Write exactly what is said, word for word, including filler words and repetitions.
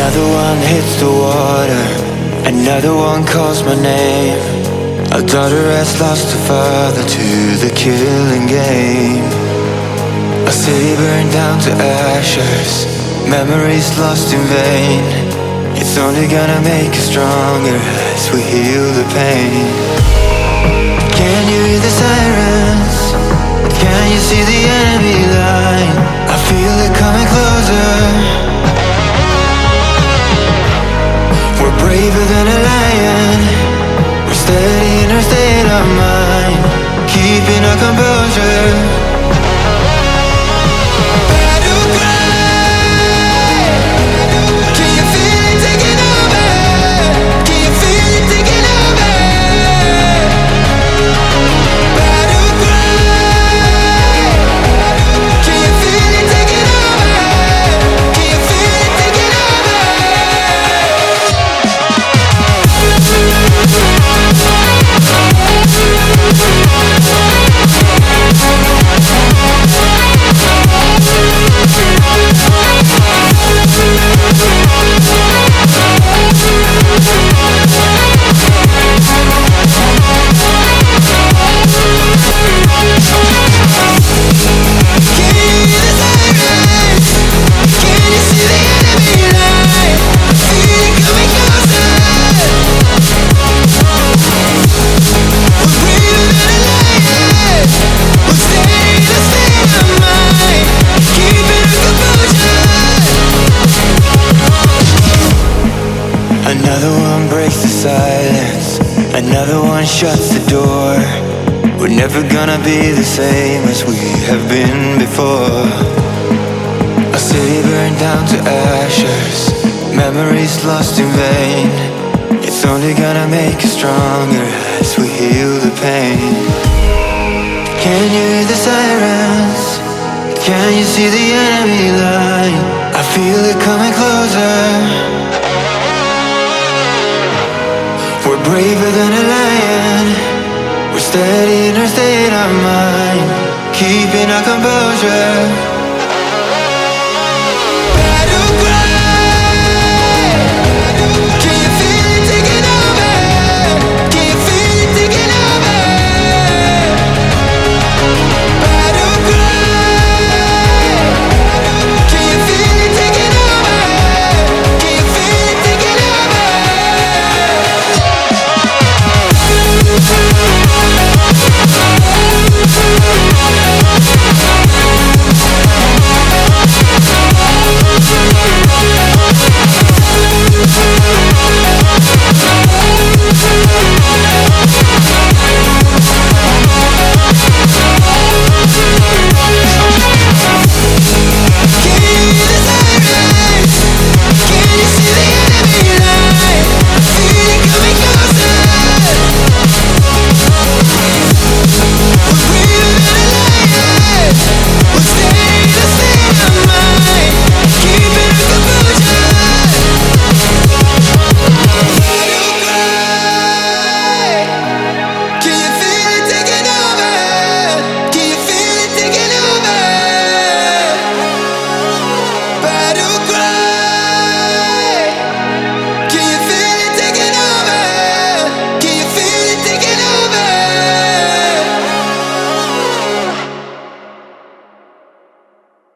Another one hits the water, another one calls my name. A daughter has lost her father to the killing game. A city burned down to ashes, memories lost in vain. It's only gonna make us stronger as we heal the pain. Can you hear the sirens? Can you see the enemy line? I feel it coming closer. We're braver than a lion. We're steady in our state of mind, keeping our composure. Battle cry. Can you feel it taking over? Can you feel it taking over? Battle cry. Can you feel it taking over? Can you feel it taking over? Another one breaks the silence, another one shuts the door. We're never gonna be the same as we have been before. A city burned down to ashes, memories lost in vain. It's only gonna make us stronger as we heal the pain. Can you hear the sirens? Can you see the enemy line? I feel it coming closer. We're braver than a lion. We're steady in our state of mind, keeping our composure.